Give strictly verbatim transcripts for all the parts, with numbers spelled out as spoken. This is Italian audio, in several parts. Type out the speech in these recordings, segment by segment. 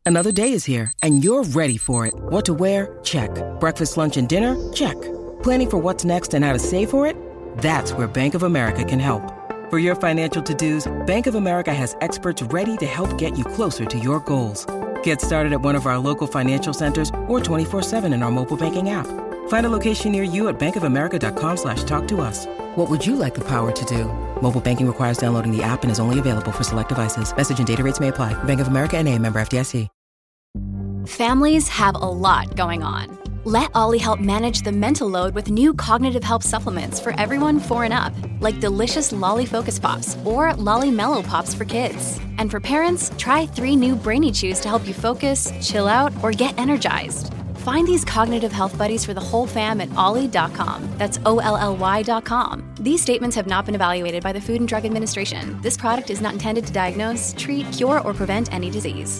Another day is here, and you're ready for it. What to wear? Check. Breakfast, lunch, and dinner? Check. Planning for what's next and how to save for it? That's where Bank of America can help. For your financial to-dos, Bank of America has experts ready to help get you closer to your goals. Get started at one of our local financial centers or twenty-four seven in our mobile banking app. Find a location near you at bankofamerica.com slash talk to us. What would you like the power to do? Mobile banking requires downloading the app and is only available for select devices. Message and data rates may apply. Bank of America N A, member F D I C. Families have a lot going on. Let Ollie help manage the mental load with new cognitive help supplements for everyone four and up, like delicious Lolly Focus Pops or Lolly Mellow Pops for kids. And for parents, try three new Brainy Chews to help you focus, chill out, or get energized. Find these cognitive health buddies for the whole fam at ollie dot com. That's O L L Y dot com. These statements have not been evaluated by the Food and Drug Administration. This product is not intended to diagnose, treat, cure, or prevent any disease.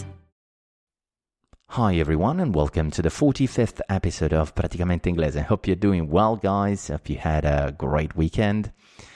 Hi everyone and welcome to the forty-fifth episode of Praticamente Inglese. Hope you're doing well, guys. Hope you had a great weekend.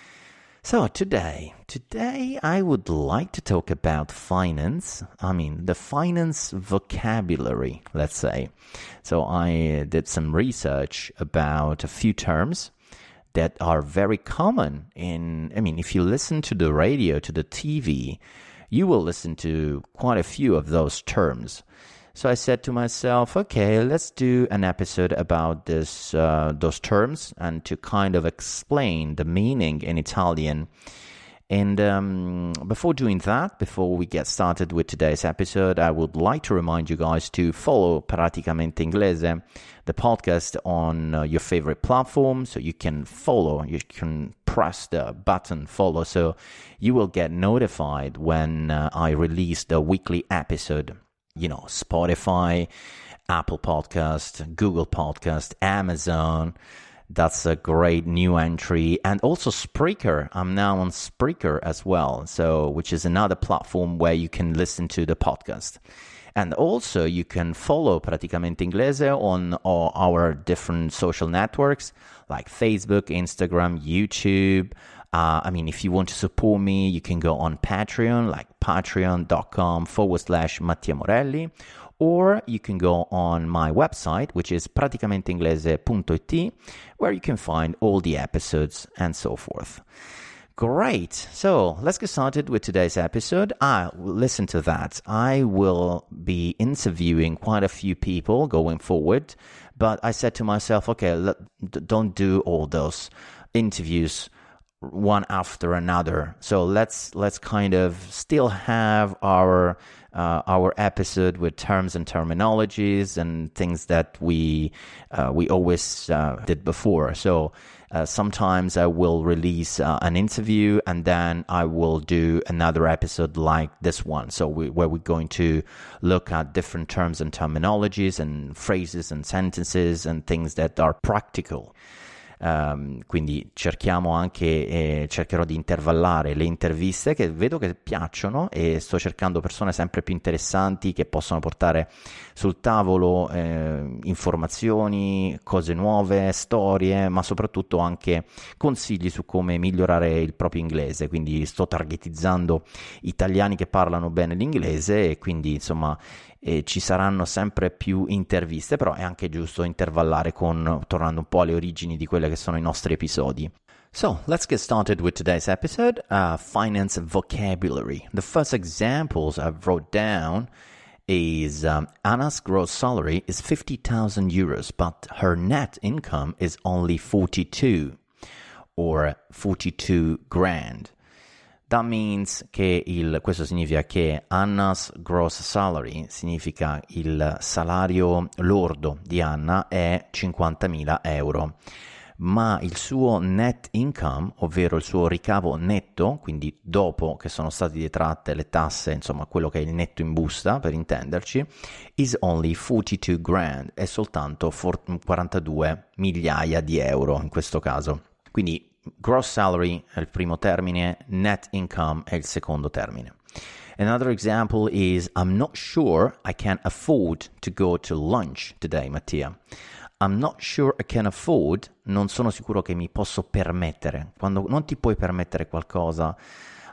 So today, today I would like to talk about finance. I mean, the finance vocabulary, let's say. So I did some research about a few terms that are very common in, I mean, if you listen to the radio, to the T V, you will listen to quite a few of those terms. So I said to myself, okay, let's do an episode about this, uh, those terms and to kind of explain the meaning in Italian. And um, before doing that, before we get started with today's episode, I would like to remind you guys to follow Praticamente Inglese, the podcast on uh, your favorite platform. So you can follow, you can press the button follow so you will get notified when uh, I release the weekly episode. You know, Spotify, Apple Podcast, Google Podcast, Amazon. That's a great new entry. And also Spreaker. I'm now on Spreaker as well, so which is another platform where you can listen to the podcast. And also you can follow Praticamente Inglese on all our different social networks like Facebook, Instagram, YouTube. Uh, I mean, if you want to support me, you can go on Patreon, like patreon.com forward slash Mattia Morelli, or you can go on my website, which is praticamenteinglese punto it, where you can find all the episodes and so forth. Great. So let's get started with today's episode. Ah, listen to that. I will be interviewing quite a few people going forward, but I said to myself, okay, let, don't do all those interviews one after another. So let's let's kind of still have our uh, our episode with terms and terminologies and things that we uh, we always uh, did before. So uh, sometimes I will release uh, an interview and then I will do another episode like this one. So we, where we're going to look at different terms and terminologies and phrases and sentences and things that are practical. Um, quindi cerchiamo anche eh, cercherò di intervallare le interviste che vedo che piacciono e sto cercando persone sempre più interessanti che possono portare sul tavolo eh, informazioni, cose nuove, storie, ma soprattutto anche consigli su come migliorare il proprio inglese. Quindi sto targetizzando italiani che parlano bene l'inglese e quindi insomma e ci saranno sempre più interviste, però è anche giusto intervallare con, tornando un po' alle origini di quelli che sono i nostri episodi. So, let's get started with today's episode, uh, finance vocabulary. The first examples I wrote down is um, Anna's gross salary is fifty thousand euros, but her net income is only forty-two or forty-two grand. That means che il, questo significa che Anna's gross salary significa il salario lordo di Anna è cinquantamila euro, ma il suo net income, ovvero il suo ricavo netto, quindi dopo che sono state detratte le tasse, insomma quello che è il netto in busta per intenderci, is only forty-two grand, è soltanto quarantadue migliaia di euro in questo caso. Quindi gross salary è il primo termine, net income è il secondo termine. Another example is I'm not sure I can afford to go to lunch today, Mattia. I'm not sure I can afford, non sono sicuro che mi posso permettere. Quando non ti puoi permettere qualcosa,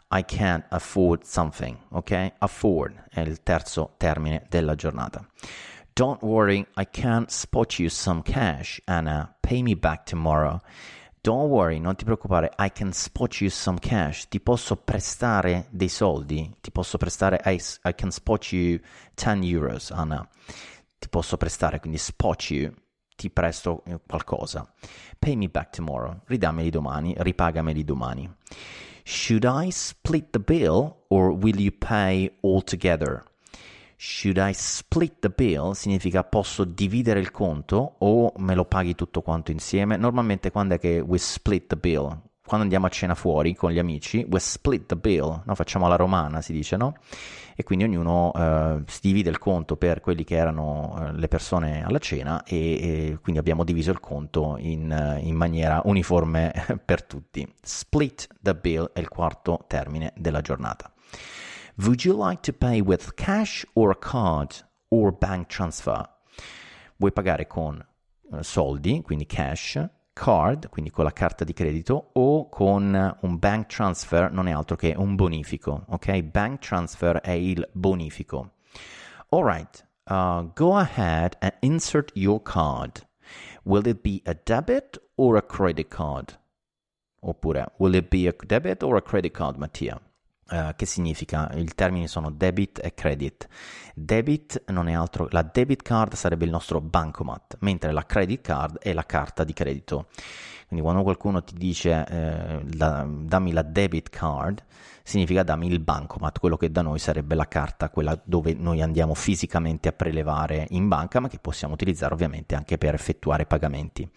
I can't afford something, ok? Afford è il terzo termine della giornata. Don't worry, I can't spot you some cash, Anna. Pay me back tomorrow. Don't worry, non ti preoccupare, I can spot you some cash. Ti posso prestare dei soldi. Ti posso prestare, I, I can spot you ten euros, Anna. Ti posso prestare, quindi spot you, ti presto qualcosa. Pay me back tomorrow. Ridammeli domani, ripagameli domani. Should I split the bill or will you pay all together? Should I split the bill significa posso dividere il conto o me lo paghi tutto quanto insieme. Normalmente quando è che we split the bill? Quando andiamo a cena fuori con gli amici, we split the bill, no? Facciamo alla romana, si dice, no? E quindi ognuno uh, si divide il conto per quelli che erano uh, le persone alla cena e, e quindi abbiamo diviso il conto in, uh, in maniera uniforme per tutti. Split the bill è il quarto termine della giornata. Would you like to pay with cash or a card or bank transfer? Vuoi pagare con uh, soldi, quindi cash, card, quindi con la carta di credito, o con un bank transfer, non è altro che un bonifico, ok? Bank transfer è il bonifico. All right, uh, go ahead and insert your card. Will it be a debit or a credit card? Oppure, will it be a debit or a credit card, Mattia? Uh, che significa? I termini sono debit e credit. Debit non è altro, la debit card sarebbe il nostro bancomat, mentre la credit card è la carta di credito. Quindi quando qualcuno ti dice eh, da, dammi la debit card, significa dammi il bancomat, quello che da noi sarebbe la carta, quella dove noi andiamo fisicamente a prelevare in banca, ma che possiamo utilizzare ovviamente anche per effettuare pagamenti.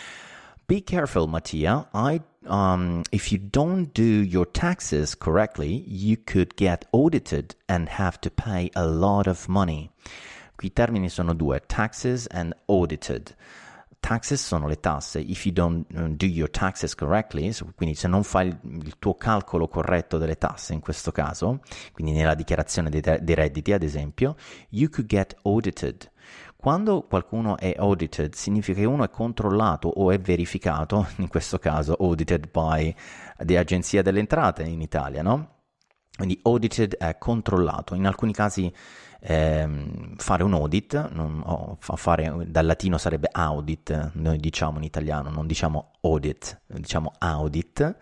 Be careful, Mattia. I, um, if you don't do your taxes correctly, you could get audited and have to pay a lot of money. Qui i termini sono due, taxes and audited. Taxes sono le tasse. If you don't do your taxes correctly, quindi se non fai il, il tuo calcolo corretto delle tasse in questo caso, quindi nella dichiarazione dei, dei redditi ad esempio, you could get audited. Quando qualcuno è audited significa che uno è controllato o è verificato, in questo caso audited by the Agenzia delle Entrate in Italia, no? Quindi audited è controllato. In alcuni casi ehm, fare un audit, non, oh, fare, dal latino sarebbe audit, noi diciamo in italiano, non diciamo audit, diciamo audit.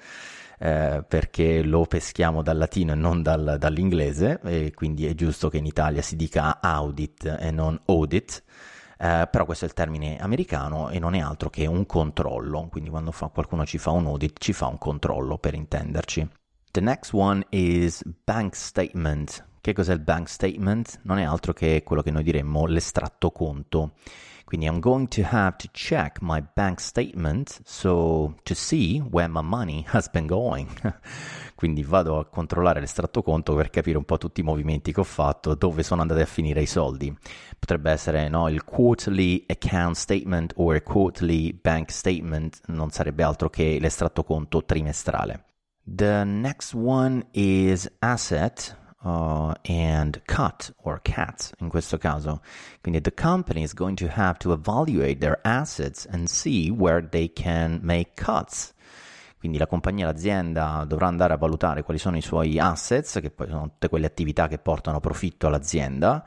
Eh, perché lo peschiamo dal latino e non dal, dall'inglese, e quindi è giusto che in Italia si dica audit e non audit, eh, però questo è il termine americano e non è altro che un controllo, quindi quando fa, qualcuno ci fa un audit ci fa un controllo, per intenderci. The next one is bank statement. Che cos'è il bank statement? Non è altro che quello che noi diremmo l'estratto conto. Quindi I'm going to have to check my bank statement so to see where my money has been going. Quindi vado a controllare l'estratto conto per capire un po' tutti i movimenti che ho fatto, dove sono andati a finire i soldi. Potrebbe essere no, il quarterly account statement o il quarterly bank statement, non sarebbe altro che l'estratto conto trimestrale. The next one is asset. Uh, and cut or cat in questo caso. Quindi the company is going to have to evaluate their assets and see where they can make cuts. Quindi la compagnia, l'azienda dovrà andare a valutare quali sono i suoi assets, che poi sono tutte quelle attività che portano profitto all'azienda.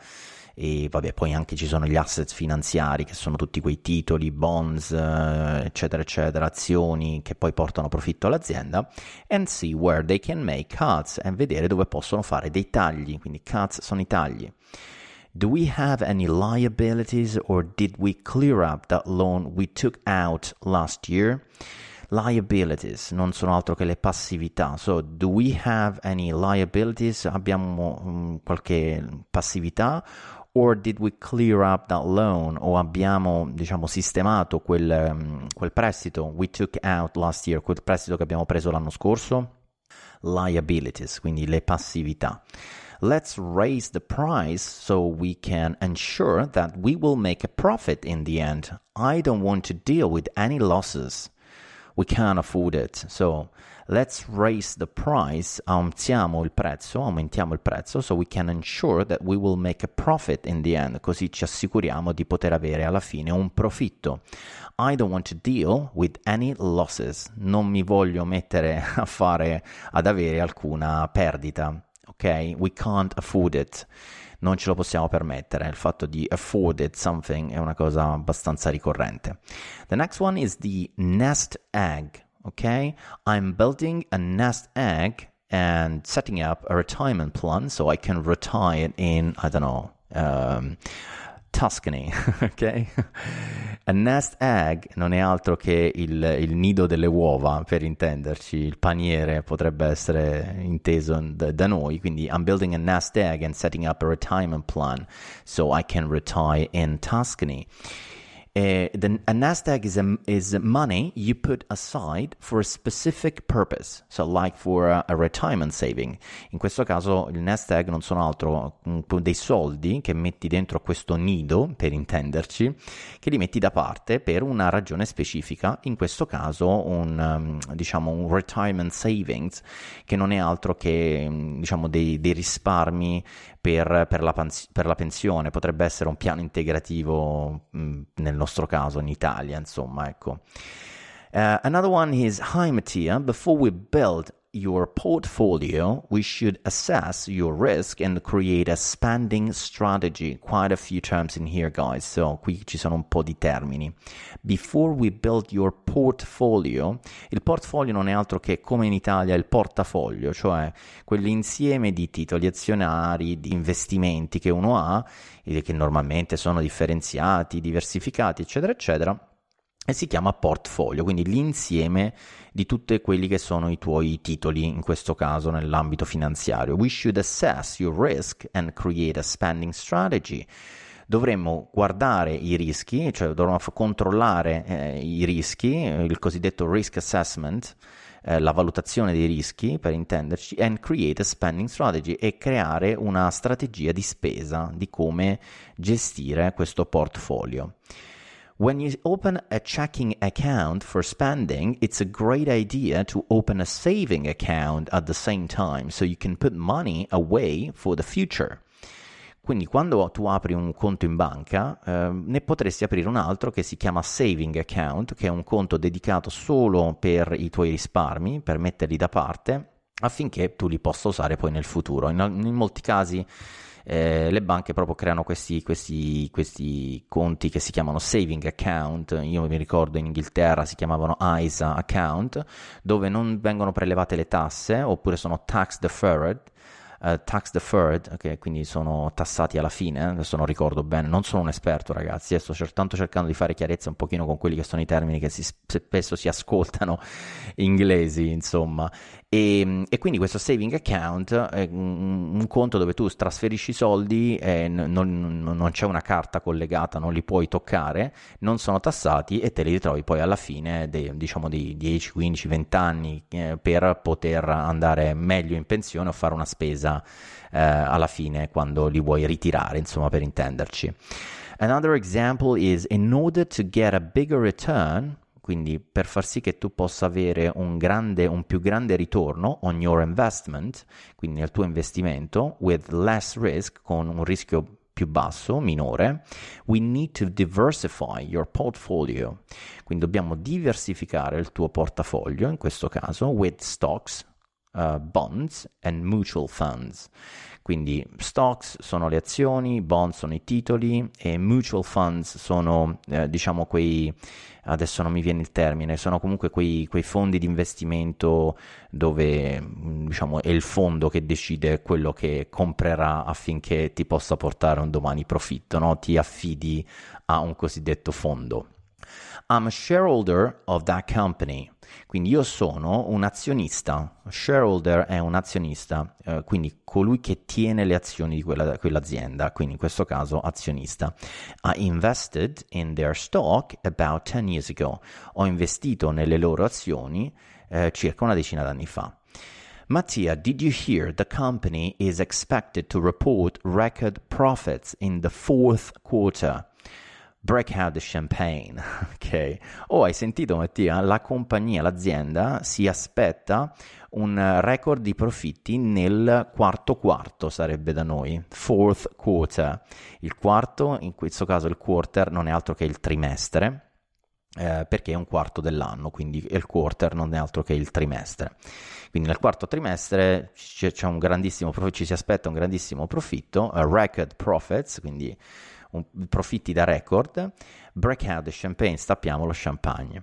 E vabbè, poi anche ci sono gli asset finanziari, che sono tutti quei titoli, bonds, eccetera, eccetera, azioni che poi portano profitto all'azienda, and see where they can make cuts, e vedere dove possono fare dei tagli, quindi cuts sono i tagli. Do we have any liabilities or did we clear up that loan we took out last year? Liabilities non sono altro che le passività. So, do we have any liabilities? Abbiamo um, qualche passività? Or did we clear up that loan? O abbiamo, diciamo, sistemato quel, um, quel prestito we took out last year, quel prestito che abbiamo preso l'anno scorso? Liabilities, quindi le passività. Let's raise the price so we can ensure that we will make a profit in the end. I don't want to deal with any losses. we can't afford it. So let's raise the price, aumentiamo il prezzo, aumentiamo il prezzo, so we can ensure that we will make a profit in the end, così ci assicuriamo di poter avere alla fine un profitto. I don't want to deal with any losses, non mi voglio mettere a fare, ad avere alcuna perdita, ok? We can't afford it. Non ce lo possiamo permettere. Il fatto di afford it something è una cosa abbastanza ricorrente. The next one is the nest egg, ok? I'm building a nest egg and setting up a retirement plan so I can retire in, I don't know, um, Tuscany, ok? A nest egg non è altro che il, il nido delle uova, per intenderci, il paniere potrebbe essere inteso da, da noi, quindi I'm building a nest egg and setting up a retirement plan so I can retire in Tuscany. Uh, the, a nest egg is, a, is money you put aside for a specific purpose, so like for a, a retirement saving. In questo caso il nest egg non sono altro um, dei soldi che metti dentro questo nido, per intenderci, che li metti da parte per una ragione specifica, in questo caso un, um, diciamo, un retirement savings, che non è altro che um, diciamo dei, dei risparmi per, per, la, per la pensione, potrebbe essere un piano integrativo mh, nel nostro caso in Italia, insomma, ecco. Uh, another one is, hi Mattia, before we build your portfolio, we should assess your risk and create a spending strategy. Quite a few terms in here, guys, so qui ci sono un po' di termini. Before we build your portfolio, il portfolio non è altro che, come in Italia, il portafoglio, cioè quell'insieme di titoli azionari, di investimenti che uno ha, e che normalmente sono differenziati, diversificati, eccetera, eccetera, e si chiama portfolio, quindi l'insieme di tutti quelli che sono i tuoi titoli, in questo caso nell'ambito finanziario. We should assess your risk and create a spending strategy. Dovremmo guardare i rischi, cioè dovremmo controllare eh, i rischi, il cosiddetto risk assessment, eh, la valutazione dei rischi, per intenderci, and create a spending strategy, e creare una strategia di spesa, di come gestire questo portfolio. When you open a checking account for spending, it's a great idea to open a saving account at the same time, so you can put money away for the future. Quindi quando tu apri un conto in banca, eh, ne potresti aprire un altro che si chiama saving account, che è un conto dedicato solo per i tuoi risparmi, per metterli da parte, affinché tu li possa usare poi nel futuro. In, in molti casi Eh, le banche proprio creano questi, questi, questi conti che si chiamano saving account. Io mi ricordo in Inghilterra si chiamavano I S A account, dove non vengono prelevate le tasse, oppure sono tax deferred, uh, tax deferred, okay, quindi sono tassati alla fine. Adesso non ricordo bene, non sono un esperto, ragazzi, eh, sto tanto cercando di fare chiarezza un pochino con quelli che sono i termini che si, spesso si ascoltano inglesi, insomma. E, e quindi questo saving account è un, un conto dove tu trasferisci i soldi e non, non, non c'è una carta collegata, non li puoi toccare, non sono tassati e te li ritrovi poi alla fine dei, diciamo di dieci, quindici, venti anni eh, per poter andare meglio in pensione o fare una spesa eh, alla fine quando li vuoi ritirare, insomma, per intenderci. Another example is, in order to get a bigger return, quindi per far sì che tu possa avere un grande, un più grande ritorno on your investment, quindi nel tuo investimento, with less risk, con un rischio più basso, minore, we need to diversify your portfolio. Quindi dobbiamo diversificare il tuo portafoglio, in questo caso, with stocks, uh, bonds and mutual funds. Quindi stocks sono le azioni, bonds sono i titoli e mutual funds sono, eh, diciamo, quei, adesso non mi viene il termine, sono comunque quei, quei fondi di investimento dove, diciamo, è il fondo che decide quello che comprerà affinché ti possa portare un domani profitto, no? Ti affidi a un cosiddetto fondo. I'm a shareholder of that company. Quindi io sono un azionista. Shareholder è un azionista, eh, quindi colui che tiene le azioni di quella, quell'azienda, quindi in questo caso azionista. I invested in their stock about ten years ago. Ho investito nelle loro azioni eh, circa una decina d'anni fa. Mattia, did you hear the company is expected to report record profits in the fourth quarter? break out the champagne, ok? Oh, hai sentito Mattia? La compagnia, l'azienda si aspetta un record di profitti nel quarto quarto, sarebbe da noi, fourth quarter. Il quarto, in questo caso il quarter, non è altro che il trimestre, Eh, perché è un quarto dell'anno, quindi il quarter non è altro che il trimestre. Quindi nel quarto trimestre c'è, c'è un grandissimo profitto, ci si aspetta un grandissimo profitto, uh, record profits, quindi un, profitti da record. Break out the champagne, stappiamo lo champagne.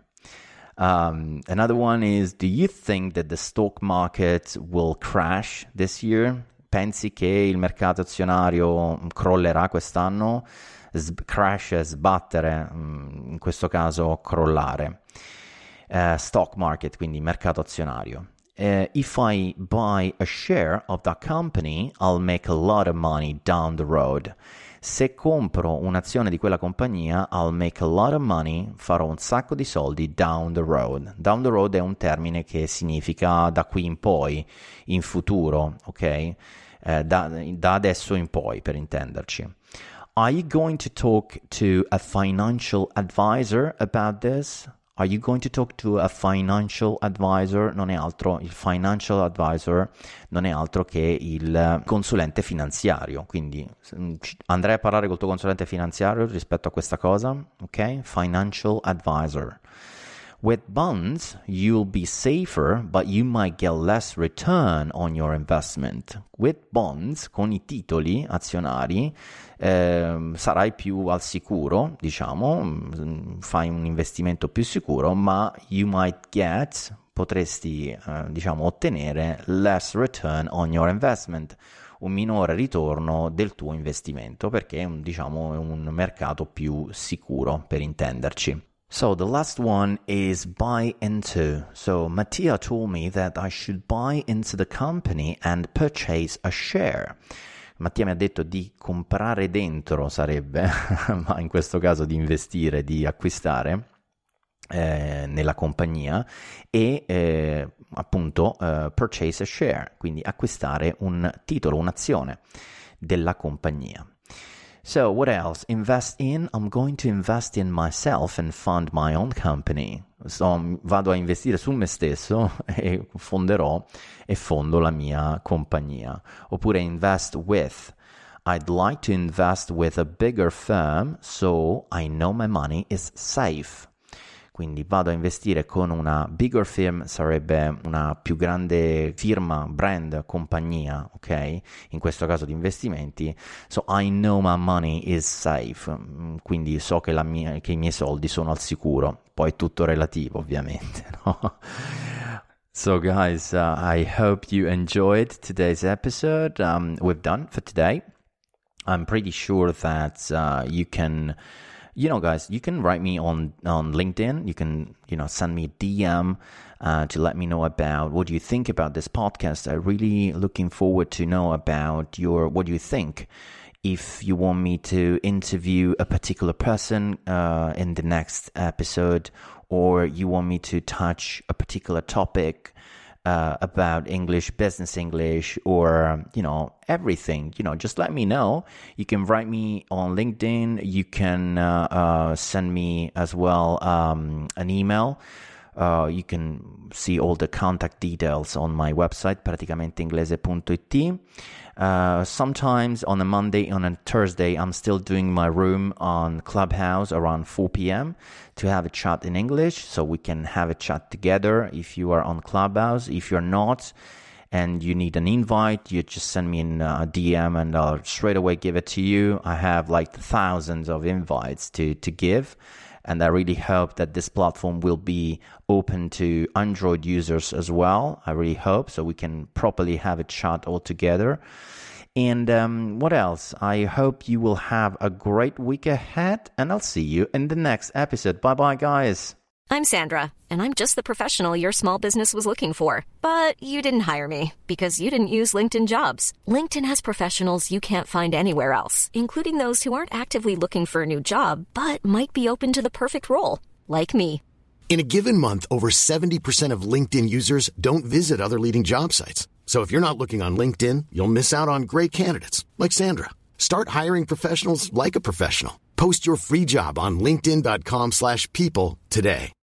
Um, another one is, do you think that the stock market will crash this year? Pensi che il mercato azionario crollerà quest'anno? S- crash è sbattere, in questo caso crollare. Uh, stock market, quindi mercato azionario. Uh, if I buy a share of that company, I'll make a lot of money down the road. Se compro un'azione di quella compagnia, I'll make a lot of money, farò un sacco di soldi down the road. Down the road è un termine che significa da qui in poi, in futuro, ok? Eh, da, da adesso in poi, per intenderci. Are you going to talk to a financial advisor about this? Are you going to talk to a financial advisor? Non è altro, il financial advisor non è altro che il consulente finanziario, quindi andrai a parlare col tuo consulente finanziario rispetto a questa cosa, ok? Financial advisor. With bonds, you'll be safer, but you might get less return on your investment. With bonds, con i titoli azionari, eh, sarai più al sicuro, diciamo, fai un investimento più sicuro, ma you might get, potresti, eh, diciamo, ottenere less return on your investment, un minore ritorno del tuo investimento, perché è un, diciamo, è un mercato più sicuro, per intenderci. So the last one is buy into. So Mattia told me that I should buy into the company and purchase a share. Mattia mi ha detto di comprare dentro, sarebbe, ma in questo caso di investire, di acquistare eh, nella compagnia e eh, appunto eh, purchase a share, quindi acquistare un titolo, un'azione della compagnia. So what else? Invest in? I'm going to invest in myself and fund my own company. So, vado a investire su me stesso e fonderò e fondo la mia compagnia. Oppure invest with. I'd like to invest with a bigger firm so I know my money is safe. Quindi vado a investire con una bigger firm, sarebbe una più grande firma, brand, compagnia, ok? In questo caso di investimenti. So I know my money is safe. Quindi so che, la mia, che i miei soldi sono al sicuro. Poi tutto relativo, ovviamente, no? So guys, uh, I hope you enjoyed today's episode. Um, we've done for today. I'm pretty sure that uh, you can... You know, guys, you can write me on, on LinkedIn. You can, you know, send me a D M uh, to let me know about what you think about this podcast. I'm really looking forward to know about your, what you think. If you want me to interview a particular person uh, in the next episode, or you want me to touch a particular topic uh, about English, business English, or, you know, everything, you know, just let me know. You can write me on LinkedIn. You can uh, uh, send me as well um, an email. Uh, you can see all the contact details on my website, praticamente inglese punto it. Uh, sometimes on a Monday, on a Thursday, I'm still doing my room on Clubhouse around four p.m. to have a chat in English, so we can have a chat together if you are on Clubhouse. If you're not, and you need an invite, you just send me in a D M and I'll straight away give it to you. I have like thousands of invites to, to give. And I really hope that this platform will be open to Android users as well. I really hope, so we can properly have a chat all together. And um, what else? I hope you will have a great week ahead, and I'll see you in the next episode. Bye-bye, guys. I'm Sandra, and I'm just the professional your small business was looking for. But you didn't hire me because you didn't use LinkedIn Jobs. LinkedIn has professionals you can't find anywhere else, including those who aren't actively looking for a new job, but might be open to the perfect role, like me. In a given month, over seventy percent of LinkedIn users don't visit other leading job sites. So if you're not looking on LinkedIn, you'll miss out on great candidates, like Sandra. Start hiring professionals like a professional. Post your free job on linkedin dot com slash people today.